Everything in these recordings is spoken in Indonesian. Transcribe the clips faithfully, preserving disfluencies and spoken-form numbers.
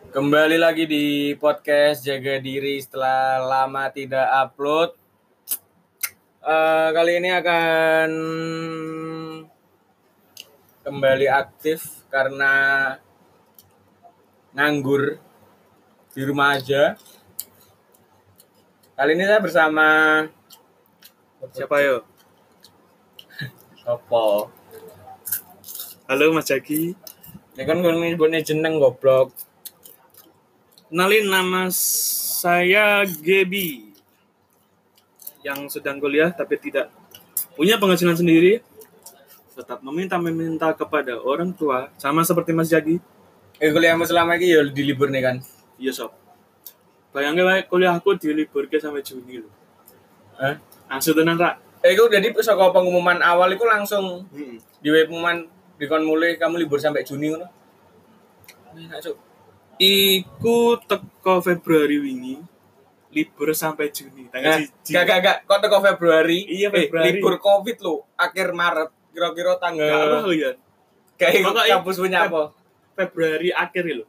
Kembali lagi di podcast Jaga Diri setelah lama tidak upload. Uh, kali ini akan kembali aktif karena nganggur di rumah aja. Kali ini saya bersama siapa yo? Sopo? Halo Mas Jaki. Ini kan gue nyebutnya jeneng goblok. Kenalin, nama saya Gebi yang sedang kuliah tapi tidak punya penghasilan sendiri, tetap meminta-meminta kepada orang tua, sama seperti Mas Jaki. Eh kuliahmu selama ini ya di libur nih kan? Iya sob. Bayangin wae kuliahku di libur ke sampai Juni loh. Hah? Langsung tenan Rak. Eh itu jadi saka pengumuman awal itu langsung Hmm. di web pengumuman dikon mulai kamu libur sampai Juni ngono. Enak cuk. Iku teko Februari wingi, libur sampai Juni. Tanggal siji. Gak gak gak, kok teko Februari? Iya Februari. Eh, libur Covid lo, akhir Maret, kira-kira tanggal. Gak apa ya. Kayak kampus punya apa? Februari akhir lho.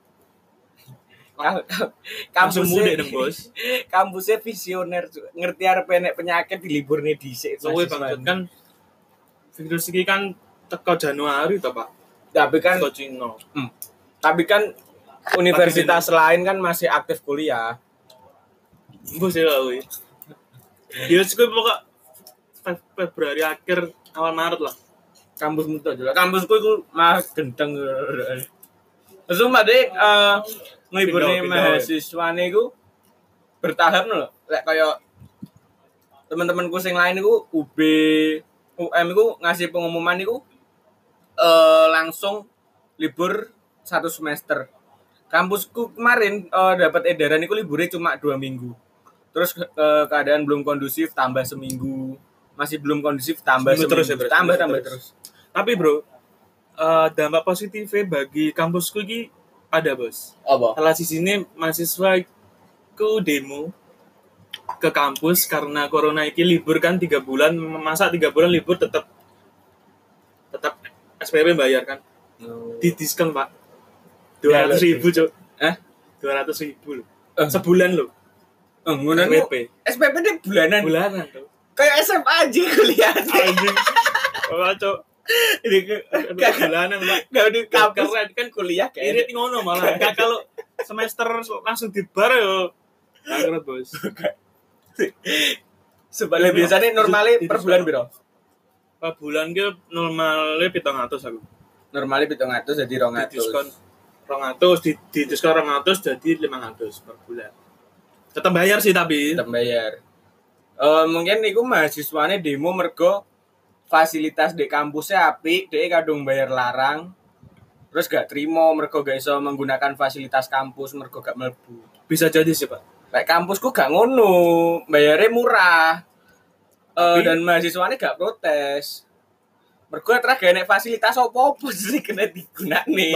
Kampus muda dong bos. Kampusnya visioner, ngerti arep enek penyakit di libur nih dhisik. Soale banget kan virus iki kan teko Januari to, Pak. Tapi kan teko Cina. Hmm. Tapi kan universitas lain kan masih aktif kuliah. Bos ya kuwi. Ya sik pokok Februari akhir awal Maret lah. Kampusmu to juga. Kampusku iku mah gendeng. Terus Mbak Dek eh ngeliburne mahasiswane iku bertahap lho. Lek kaya teman-temanku sing lain iku U B, U M iku ngasih pengumuman iku eh langsung libur satu semester. Kampusku kemarin uh, dapat edaran itu liburnya cuma dua minggu. Terus uh, keadaan belum kondusif tambah seminggu, masih belum kondusif tambah seminggu, terus ya, tambah tambah terus. terus. Tapi bro, uh, dampak positifnya bagi kampusku ini ada bos. Apa? Salah sisinya mahasiswa ku demo ke kampus karena corona ini libur kan tiga bulan, masa tiga bulan libur tetap tetap S P P bayar kan? No. Di diskon pak. Dua ratus ribu cok, eh dua ratus ribu loh, uh. sebulan loh. Eh, ngunan S P P. S P P deh bulanan. Bulanan tuh. Kayak S M A aja kuliah. Anjing. Oh cok. Ini ke bulanan pak. Gak di kampus kan kuliah kayak. Ini ngono malah. Gak kalau semester langsung dibar yo. Bangkrut bos. Sebenarnya biasanya normalnya per bulan biro. Per bulan ke normalnya pitung atus aku. Normalnya pitung atus jadi rong atus. Diskon rong atus di, di diskon rong atus jadi lima ratus per bulan. Tetap bayar sih tapi. Tetap bayar. Uh, mungkin iku mahasiswane demo mergo fasilitas di kampusnya apik, dhek kadung bayar larang. Terus gak terima mergo gak iso menggunakan fasilitas kampus mergo gak mlebu. Bisa jadi sih, Pak. Lek kampusku gak ngono, bayarnya murah. Uh, dan mahasiswane gak protes. Mergo terus gak enek fasilitas opo-opo sih kena digunakne.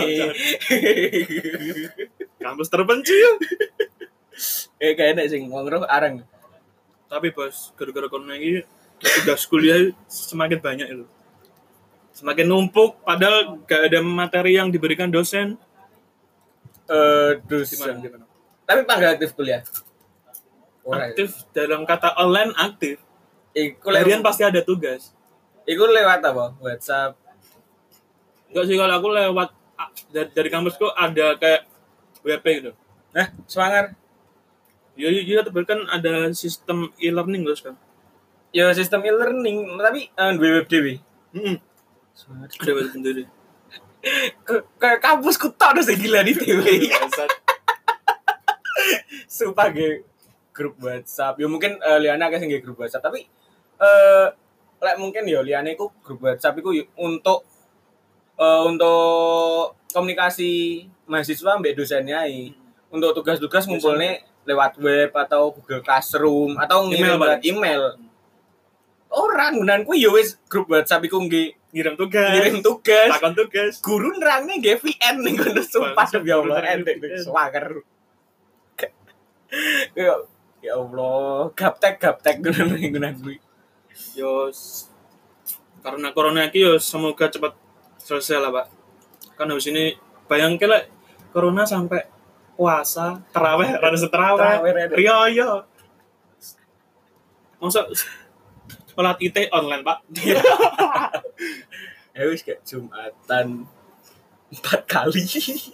Kampus terpencil. Eh gak enek sing wong roh areng. Tapi bos, gara-gara corona ini tugas kuliah semakin banyak itu. Semakin numpuk padahal gak ada materi yang diberikan dosen. Eh uh, dosen. Gimana, gimana? Tapi panggal aktif kuliah. Orang aktif ya? Dalam kata online aktif. Iku harian pasti ada tugas. Iku lewat apa? WhatsApp? Enggak sih, kalau aku lewat dari, dari kampusku ada kayak W P gitu. Nah, semangar. Ya, iya, tapi kan ada sistem e-learning terus kan. Ya, sistem e-learning, tapi uh, web dewe. Heeh. Ada web sendiri. Kayak kampusku tok udah gila di dewe. Sumpah ge grup WhatsApp. Ya mungkin uh, Liana kayak sing grup WhatsApp, tapi eh uh, lek mungkin ya liane iku grup WhatsApp iku untuk uh, untuk komunikasi mahasiswa mbek dosennya i. Untuk tugas-tugas ngumpulne lewat web atau Google Classroom atau ngirim lewat email. Orang menanku ya wis grup WhatsApp iku nggih ngirim tugas. Ngirim tugas. Takon tugas. Guru nerangne nggih V N ning ngono sumpah ya Allah endek swanger. Ya ya Allah, gaptek gaptek ngono ngono kuwi. Yo karena corona iki yo semoga cepat selesai lah, Pak. Kan habis ini bayangke lah corona sampai puasa, tarawih, rada Tarawih, setrawih, rada. riyo. Masa sholat I T online, Pak. Ya wis kayak Jumatan empat kali.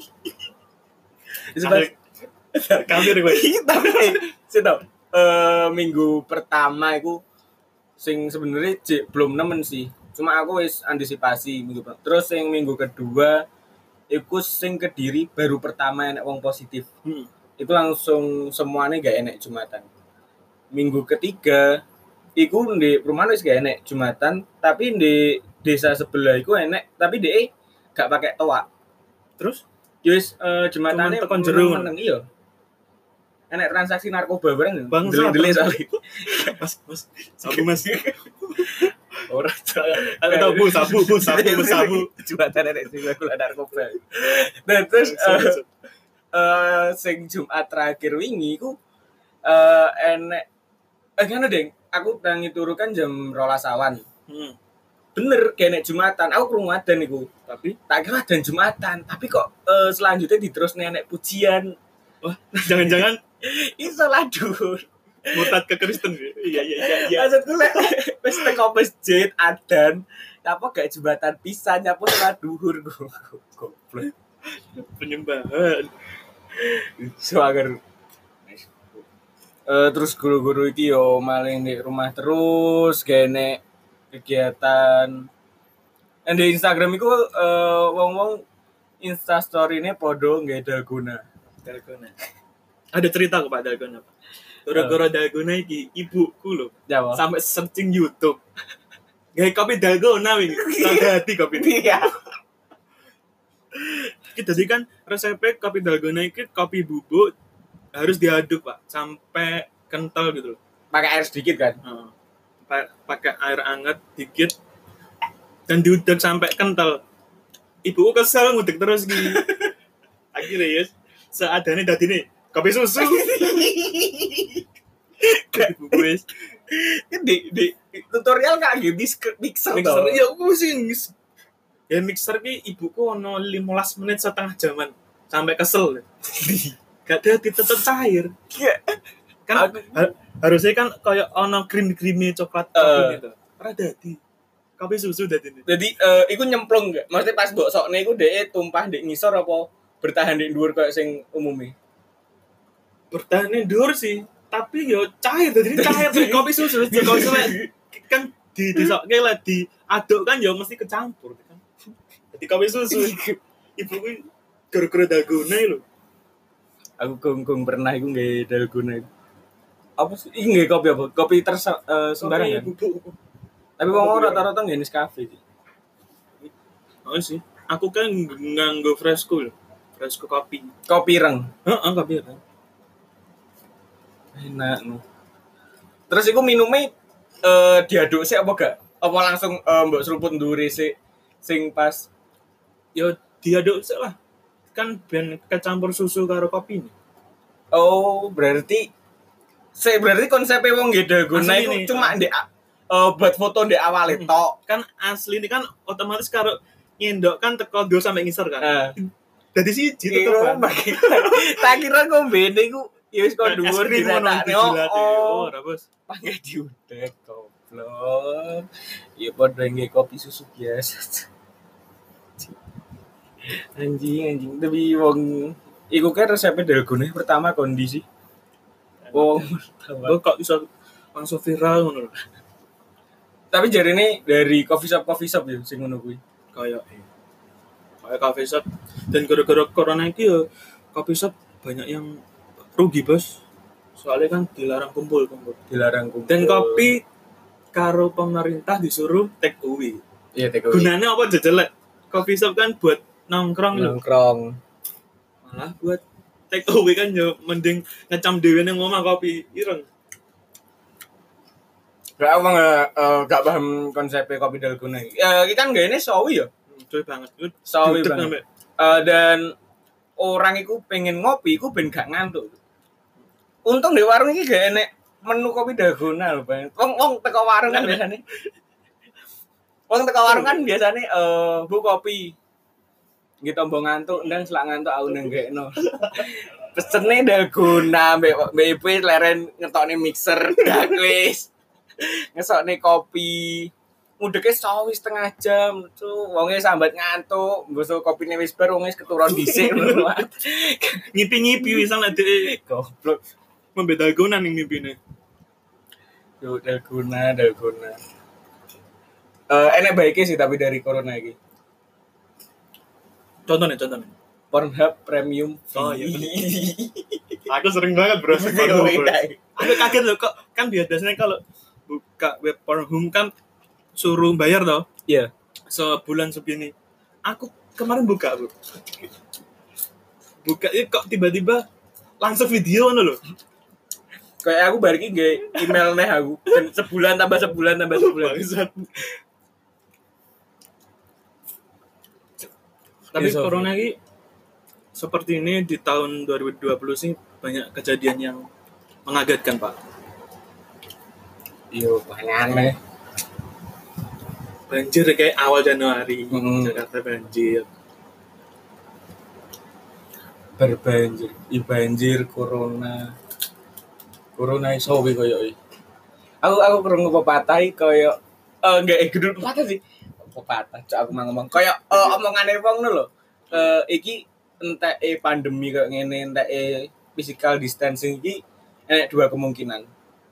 Kafir, kafir gue. Tapi eh, sih tau, eh, minggu pertama itu sing sebenarnya cek belum nemen sih. Cuma aku wis antisipasi minggu pertama. Terus yang minggu kedua iku sing Kediri baru pertama enek wong positif. Hmm. Itu langsung semuanya gak enek Jumatan. Minggu ketiga iku di perumahan wis gak enek Jumatan, tapi di desa sebelah iku enek, tapi dhek gak pakai toa. Terus Wis uh, Jumatane tekan jero. meneng iya. Enek transaksi narkoba bareng. Bang, Delik-delik soalnya. Mas, Mas, sabu Mas. Ora Aku tahu bu, sabu, bu, sabu, bu, sabu. Jumatan enek sing gula narkoba. Nah, terus uh, uh, sing Jumat terakhir wingi ku uh, enek eh kan deng, aku tangi turu kan jam rolas awan. Hmm. Bener kayak nek Jumatan, aku krungu adzan iku. Tapi Tak kira adzan Jumatan, tapi kok uh, selanjutnya diterus nenek pujian. wah, jangan-jangan Iso ladur. murtad ke Kristen. Iya, iya, iya, iya. Maksudku lek wis teko masjid adzan, apa gak jembatan pisan nyapu salat duhur goblok. Penyembahan. Suager. Eh terus guru-guru iki yo maling di rumah terus gene kegiatan. And di Instagram iku eh wong-wong Insta story-ne podo nggak dalgona. Dalgona. Ada cerita kok Pak Dalgona, Pak. Gara-gara Dalgona iki ibuku lho. Jawa. Sampai searching YouTube. Gawe kopi Dalgona wingi. Rada hati kopi. Iya. Kita jadi kan resepnya kopi Dalgona iki kopi bubuk harus diaduk, Pak, sampai kental gitu loh. Pakai air sedikit kan? Heeh. Pa- pakai air hangat dikit dan diudek sampai kental. Ibuku kesel ngudek terus gini. Akhirnya ya seadanya dadine kopi susu. Kopi wis di, di tutorial gak gitu mixer mixer toh. ya aku sih ya mixer ki ibuku ono lima belas menit setengah jaman sampai kesel. Gak ada tetep cair. Kan ha- harusnya kan kayak ono krim-krimi coklat kopi Uh. gitu. Ora dadi. Kopi susu dadine. Jadi eh iku nyemplung gak? Maksudnya pas mbok sokne iku dhek tumpah ndek ngisor apa bertahan di dhuwur kayak sing umumnya? Bertahan dhuwur sih, tapi yo cair jadi cair dari kopi susu. Jadi kopi susu kan di disokke lah diaduk kan yo mesti kecampur kan. Jadi kopi susu ibu gue gara-gara dalgona lho. Aku kung-kung pernah iku nggih dalgona iku. Apa sih? Iki nggih kopi apa? Kopi terus uh, sembarangan. Kopi bubuk. Tapi wong rata-rata nggih Nescafe sih. Oh sih, aku kan nganggo Fresco lho. Fresco kopi. Kopi reng. Heeh, kopi reng. Enak no. Terus iku minumnya eh diaduk sih apa gak? Apa langsung eh, mbok seruput ndure sih sing pas Yo diaduk sik lah. Kan ben kecampur susu karo kopi nih. oh berarti saya berarti konsepnya wong nggih dalgona Asli iku nih, cuma ah. ndek eh buat foto ndek awal Hmm. tok. Kan asli ini kan otomatis karo nyendok kan teko ndo sampai ngisor kan. Heeh. Dadi siji Iya, tetep kan. bagi- tak kira ngombene iku ya wis kok dhuwur diratakne. Oh, Oh, ora bos. pakai diudek goblok. Ya padha nggih kopi susu biasa. Anjing anjing tapi wong iku kan resepnya dalgona pertama kondisi. Wong pertama. Kok kok iso langsung viral ngono lho. Tapi jarine dari coffee shop coffee shop ya sing ngono kuwi. Kayak kayak coffee shop dan gara-gara corona iki ya coffee shop banyak yang rugi, Bos. Soalnya kan dilarang kumpul-kumpul. Dilarang kumpul. Dan kopi karo pemerintah disuruh take away. iya take away. Gunanya apa jejelek? Coffee shop kan buat nongkrong lho. Nongkrong. Malah buat take away kan yo mending ngecam dhewe ning omah kopi ireng. Gak apa nggak uh, gak paham konsepnya kopi dalgona. Ya kita kan gak ini sawi ya. Cuy banget. Itu Sawi duduk banget. sampe- Uh, dan orang iku pengen ngopi iku ben gak ngantuk. Untung di warung iki gak enek menu kopi dalgona lho, Bang. Wong wong teko warung kan biasane. Wong teko warung kan biasane eh uh, bu kopi. Nggih tombo ngantuk ndang selak ngantuk aku nenggekno. Pesene dalgona mbek mbek ibu leren ngetokne mixer dak wis. Ngesokne kopi. Mudeke sawis setengah jam tuh wonge sambat ngantuk, mbok kopine wis bar wonge keturun dhisik ngono. Nyipi-nyipi wis ana dhek Goblok. ngombe dalgona ning mipine. Yo dalgona, dalgona. Eh enek baike sih tapi dari corona iki. Contohnya, contohnya. Pornhub Premium. Oh iya. Aku sering banget bro. Aku kaget loh kok kan biasanya kalau buka web Pornhub kan suruh bayar toh. Iya. Sebulan segini. Aku kemarin buka bro. Buka ya kok tiba-tiba langsung video ngono loh. Kayak aku bar iki nge email neh aku. Sebulan tambah sebulan tambah sebulan. Tapi yes, corona ini seperti ini di tahun dua ribu dua puluh sih banyak kejadian yang mengagetkan Pak. Iya banyak nih. Banjir kayak awal Januari hmm. Jakarta banjir. Berbanjir, i banjir corona. Corona iso wi koyo iki. Aku aku krungu pepatah koyo eh enggak eh gedul pepatah sih. Pepatah cok aku mau ngomong koyo uh, omongane wong lho. Eh iki enteke pandemi kok ngene enteke physical distancing iki enek dua kemungkinan.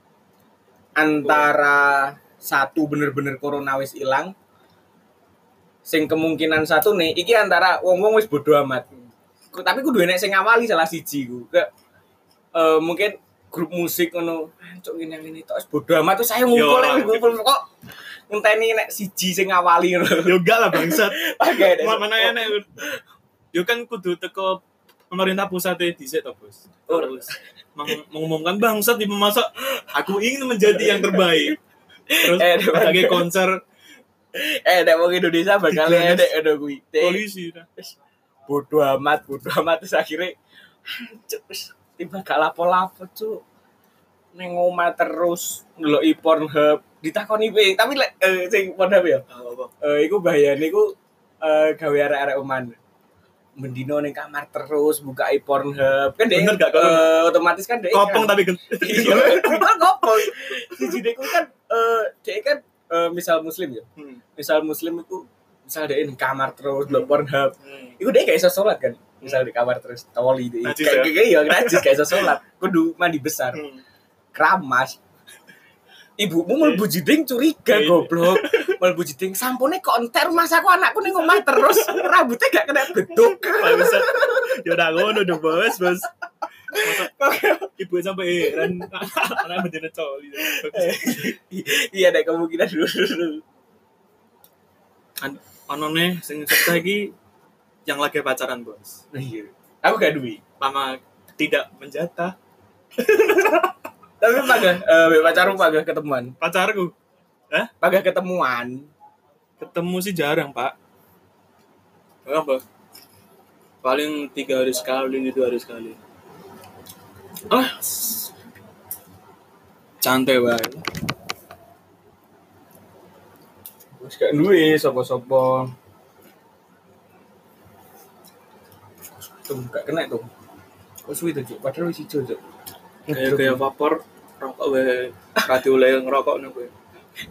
Antara satu bener-bener corona wis ilang. Sing kemungkinan satu nih iki antara wong-wong wis bodo amat. Tapi kudu enek sing ngawali salah siji ku. Ke uh, mungkin grup musik ngono. Cok ngene-ngene tok wis bodo amat terus saya ngumpul ngumpul kok ngenteni nek siji sing ngawali ngono. Yo enggak lah bangsat. Oke. Mana enek. Yo kan kudu teko pemerintah pusat e dhisik to, Bos. Terus mengumumkan bangsat di memasak aku ingin menjadi yang terbaik. Terus eh, sebagai konser eh nek wong Indonesia bakal enek ngono kuwi. Polisi. Bodo amat, bodo amat terus akhirnya tiba gak lapo-lapo cuk. Ning omah terus ndeloki Pornhub ditakoni piye tapi lek eh, sing Pornhub ya eh iku bahayane iku eh gawe arek-arek oman mendino ning kamar terus buka Pornhub kan dek uh, otomatis kan dek kopong kan, tapi iya kopong siji dek kan eh dek kan uh, misal muslim ya hmm. misal muslim itu misal dek ning kamar terus ndelok Pornhub hmm. iku dek gak iso salat kan misal di kamar terus toli dek kayak ya najis gak iso salat kudu mandi besar hmm. Keramas. Ibumu mlebu jiding curiga goblok. Mlebu jiding sampune kok entek rumah aku anakku ning omah terus rambutnya gak kena beduk. Bangsat. Ya udah ngono dong, Bos, Bos. Ibu sampai heran anak bener coli. Iya ada kemungkinan dulu. Ono nih sing cerita iki yang lagi pacaran, Bos. Iya. Aku gak duwe. Mama tidak menjatah. Tapi pagah eh pacarmu pagah ketemuan. Pacarku. Hah? Pagah ketemuan. Ketemu sih jarang, Pak. Berapa? Paling tiga hari sekali, dua hari sekali. Ah. Santai banget. Wis gak duwe sapa-sapa. Tuh gak kena tuh. Kok suwi tuh, Cuk? Padahal wis ijo, Cuk. Kayak kayak vapor rokok wae radio le ngerokok nang kowe.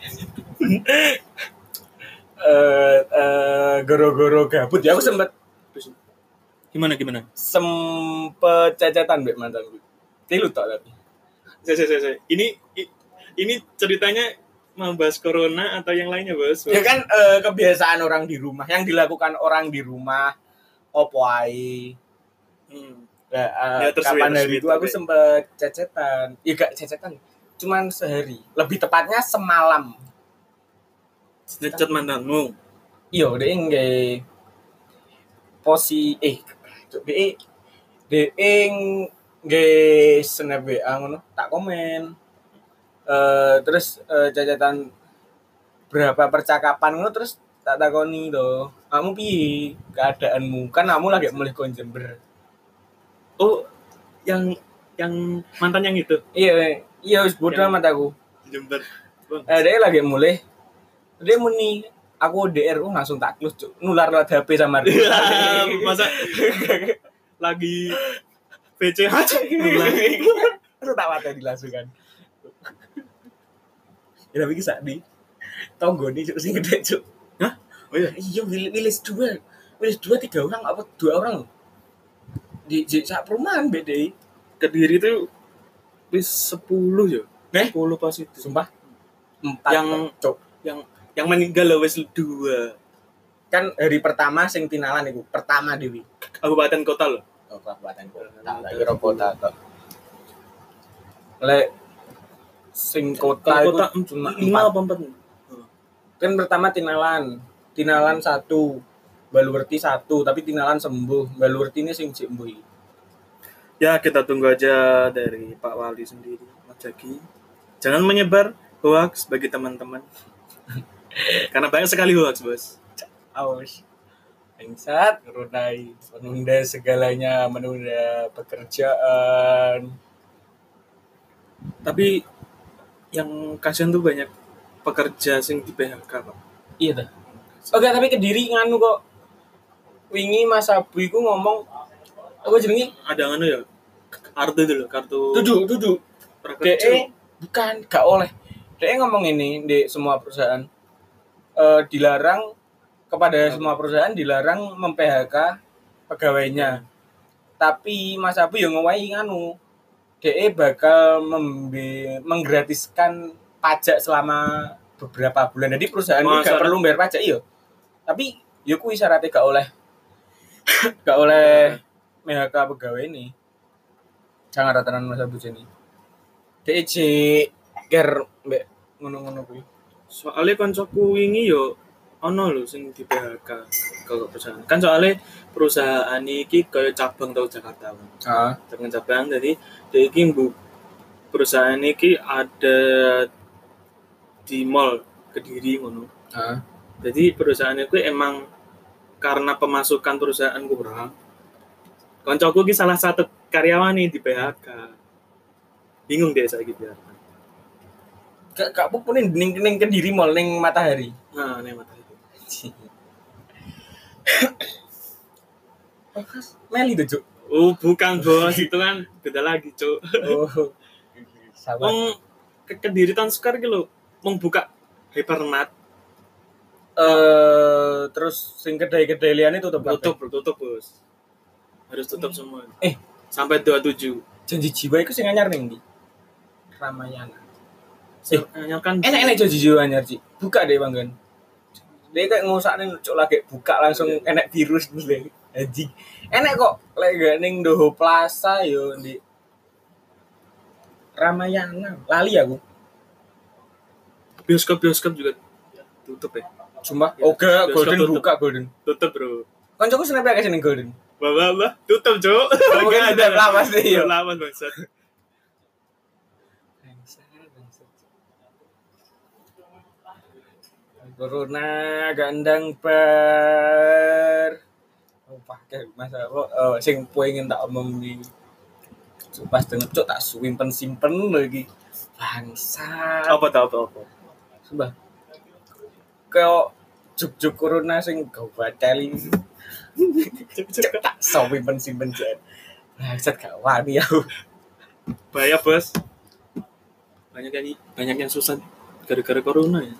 Eh eh goro-goro gabut ya aku sempet gimana gimana? Sempet cecetan mbek mantanku. Tilu tok tapi. Se se se. Ini ini ceritanya membahas corona atau yang lainnya, Bos? Ya kan eh, kebiasaan orang di rumah yang dilakukan orang di rumah opo ae. Hmm. Nah, uh, ya, kapan hari itu aku sempet cecetan. Ya gak cecetan, cuman sehari. Lebih tepatnya semalam. Ngecet mantanmu. Iya, dhek nggih posi eh dhek dhek nggih snap W A ngono, tak komen. Uh, terus uh, cecetan berapa percakapan ngono terus tak takoni to. Kamu piye keadaanmu? Kan kamu lagi mulih kon Jember. Oh, yang yang mantan yang itu. Iya, iya wis bodoh amat aku. Jember. Eh, dia lagi mulai. Dia muni aku D R U langsung tak close cuk. Nular lewat H P sama dia. Masa lagi P C H nular. Terus tak wateni langsung kan. Ya tapi kisah di tonggone cuk sing gede cuk. Hah? Oh iya. Iya Wilis dua. Wilis dua tiga orang apa dua orang? Di, di sak perumahan B D I. Kediri itu wis sepuluh ya. Eh? sepuluh pas itu. Sumpah. Empat Yang cuk. yang yang meninggal lah wis dua. Kan hari pertama sing tinalan iku, pertama Dewi. Kabupaten kota loh. Oh, kabupaten kota. Tak kira kota tok. Lek sing kota itu Kota cuma lima empat. apa empat? Kan pertama tinalan. Tinalan satu. Baluwerti satu, tapi tinalan sembuh. Baluwerti ini sing sembuh. Ya kita tunggu aja dari Pak Wali sendiri, Mas Jaki. Jangan menyebar hoax bagi teman-teman. Karena banyak sekali hoax, Bos. Aus. Bangsat, Runai menunda segalanya, menunda pekerjaan. Tapi yang kasihan tuh banyak pekerja sing di P H K, Pak. Iya dah. Oke, tapi Kediri nganu kok. Wingi Mas Abu iku ngomong apa jenenge? Ada anu ya? Kartu itu loh, kartu Duduk, duduk. prakerja. D E bukan, gak oleh. D E ngomong ini di semua perusahaan eh, dilarang kepada semua perusahaan dilarang mem-P H K pegawainya. Tapi Mas Abu yang ngowahi nganu. D E bakal membe- menggratiskan pajak selama beberapa bulan. Jadi perusahaan ini Masa gak perlu bayar pajak iya. Tapi ya kuwi syaratnya gak oleh gak oleh M H K pegawai ini. Jangan ratanan Mas Abu sini. D E C ker mbek ngono-ngono kuwi. Soalnya koncoku wingi yo ono lho sing di P H K kalau perusahaan. Kan soalnya perusahaan iki kaya cabang tau Jakarta. Heeh. Dengan cabang jadi dia iki bu perusahaan iki ada di mall Kediri ngono. Heeh. Jadi perusahaan itu emang karena pemasukan perusahaan kurang. Koncoku ki salah satu karyawan nih di P H K. Bingung deh saya gitu ya. Gak gak apa ning ning ning Kediri mall ning Matahari. Nah, nih mata itu. Meli tuh, Cuk. Oh, bukan bos, itu kan beda lagi, Cuk. Oh. Sabar. Wong ke Kediri tahun sekarang gitu mau buka hypermart Eh terus sing kedai-kedai liyane tutup tutup, tutup, Bos. Harus tutup semua. Eh, Sampai dua puluh tujuh. Janji Jiwa iku sing anyar ning ndi? Ramayana. Eh, yang kan Enak-enak Janji Jiwa anyar, Ci. Buka deh, Bang Gan. Dia kayak ngusakne cuk lagi buka langsung enak virus dulu. Anjing. Enak kok lek gak ning Doho Plaza yo di Ramayana. Lali aku. bioskop-bioskop juga tutup ya. Sumpah. Ya, Oke, bioskop Golden tutup. buka Golden. Tutup, Bro. Kancaku snap akeh ning Golden. Bah, bah, tutup, Cuk. Mungkin ada lawas deh yo. Lawas bangsat. Corona gandang per oh pakai masa oh, oh sing pengen tak omong di pas denger cok tak simpen simpen lagi bangsa Apa tau apa apa. sumpah kau juk-juk corona sing kau bateli cok tak simpen simpen jan bangsat gak wani aku Bahaya, Bos. Banyak yang banyak yang susah gara-gara corona ya.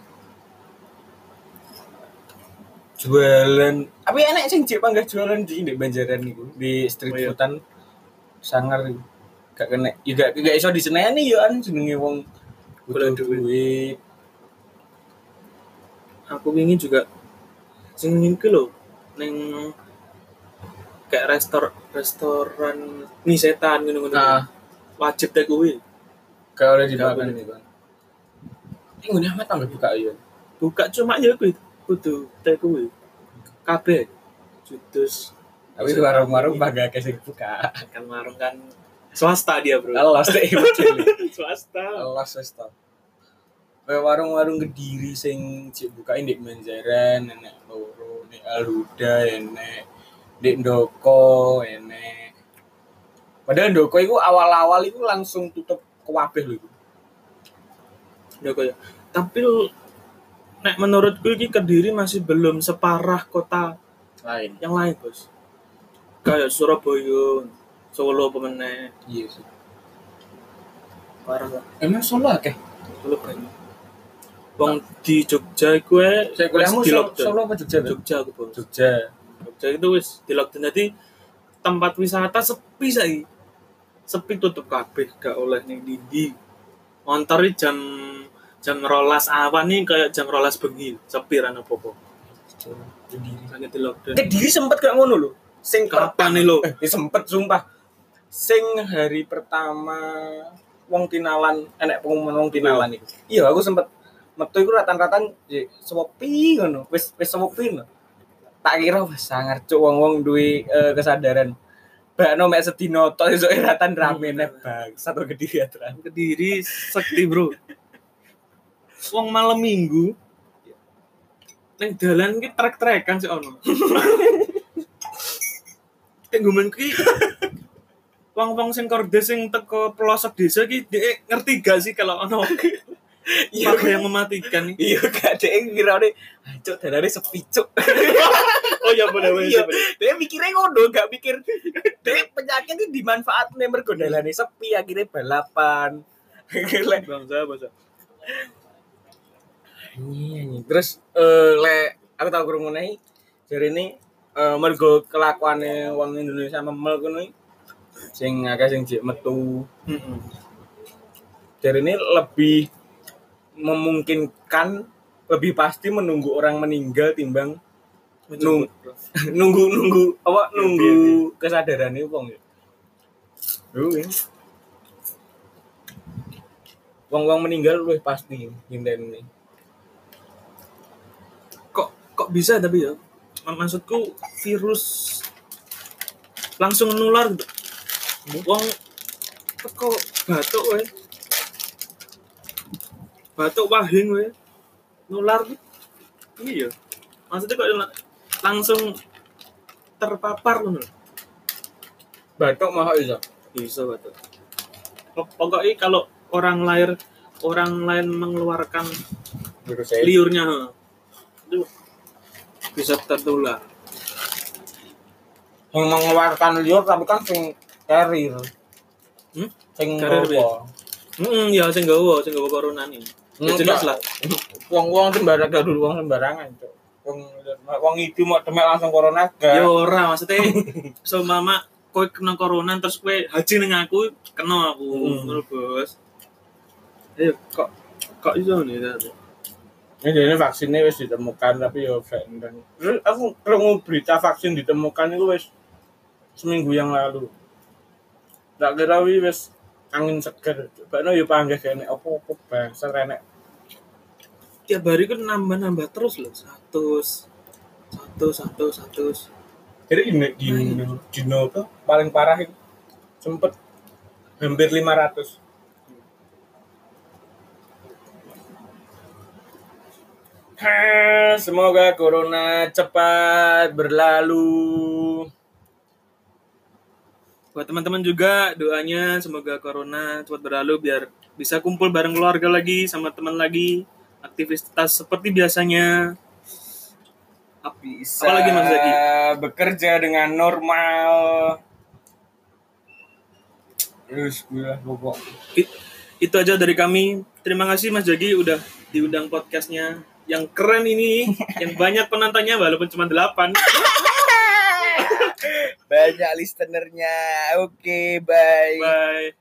jualan tapi enak sing cek panggah jualan di di Banjaran niku di street Oh, iya. foodan sangar iku. Gak kena ya gak gak iso diseneni yo an jenenge wong Golek butuh duit. duit. Aku ingin juga sing iki lho ning kayak restor restoran mie setan ngono-ngono. Nah. Wajib take away. Gak oleh Gak dimakan boleh. nih bang. Ini ngene amat tangga buka ya. Buka cuma ya kuwi kudu take away. Kabeh judus Tapi di warung-warung bangga kasih buka. kan warung kan swasta dia, Bro. Alas teh model. Swasta. Alas wis to. Kayak warung-warung Kediri sing cek bukain di Banjaran, enek loro, nek Alhuda, enek di Ndoko, enek. Padahal Ndoko itu awal-awal itu langsung tutup kabeh lho iku. Ya kaya. Tapi lu- nek menurutku ini Kediri masih belum separah kota lain. yang lain, Bos. Kayak Surabaya, Solo pemenang. Iya sih. Parah lah. Emang Solo akeh? Solo banyak. Wong di Jogja iku e Saya kuliahmu di Solo, lockdown. Solo apa Jogja? Jogja aku, Bos. Jogja. Jogja itu wis di lockdown. Jadi tempat wisata sepi saiki. Sepi tutup kabeh, gak oleh ning ndi. Montori jam jam rolas awan nih kayak jam rolas bengi. Sepi ra apa-apa. Kediri. Sangat di lockdown. Kediri sempet gak ngono lho. Sing Kapan nih lo? Eh, sempet sumpah. Sing hari pertama wong tinalan, enek pengumuman wong tinalan iku. Iya, aku sempet metu iku ratan-ratan sepi ngono. Wis wis sepi ngono. Tak kira wis sangar cuk wong-wong duwe uh, kesadaran. Bakno mek sedino tok esuk ratan rame nek bang. Satu Kediri aturan. Kediri sekti, Bro. Wong malam Minggu ning dalan ki trek-trekan sik ono. Tenggumen ki wong-wong sing kordes sing teko pelosok desa ki dhek ngerti gak sih kalau ono Iya yang mematikan. Iya gak dhek ngirane cuk dalane sepi cuk. Oh ya bener bener. Iya, dia mikirnya ngono, gak mikir dia penyakit itu dimanfaatne mergo dalane sepi akhirnya balapan. Bangsa bangsa. Iya, terus eh le aku tau krungu neh jarine eh mergo kelakuane wong Indonesia memel ngono iki sing akeh sing jek metu. Heeh. Jarine lebih memungkinkan lebih pasti menunggu orang meninggal timbang nunggu nunggu nunggu apa nunggu kesadarannya wong ya. Lho ya. Wong-wong meninggal luwih pasti nginteni. Kok kok bisa tapi ya? Maksudku virus langsung nular gitu. Wong teko batuk wae. Batuk wahing wae. Nular gitu. Iya. Maksudnya kok langsung terpapar ngono. Batuk mah iso. Bisa batuk. Pokoknya kalau orang lain orang lain mengeluarkan Virus saya. liurnya itu bisa tertular. Yang mengeluarkan liur tapi kan sing carrier. Hmm? Sing Carrier apa? Heeh, ya sing gawa, sing gawa corona nih. Ya jelas lah. Wong-wong sembarang gak dulu wong sembarangan, Cuk. Wong wong itu mau demek langsung corona gak. Ya ora, maksudnya so mama kowe kena corona terus kowe haji ning aku, kena aku, ngono, Bos. Ayo kok kok iso nih tadi. Ini jadi vaksinnya wis ditemukan tapi ya fake. Terus aku krungu berita vaksin ditemukan itu wis seminggu yang lalu. Tak kira wis angin seger. Bakno yo panggih kene opo-opo bangsa renek. Tiap hari kan nambah-nambah terus loh, seratus, satu, satu, satu. Jadi ini di dino apa paling parah itu sempet hampir lima ratus. Ha, semoga corona cepat berlalu. Buat teman-teman juga doanya semoga corona cepat berlalu biar bisa kumpul bareng keluarga lagi sama teman lagi, aktivitas seperti biasanya. Bisa apalagi Mas Zaki? Bekerja dengan normal. Terus gue pokok. It, itu aja dari kami. Terima kasih Mas Jagi udah diundang podcastnya yang keren ini, yang banyak penontonnya walaupun cuma delapan. Banyak listenernya. Oke, okay, bye. Bye.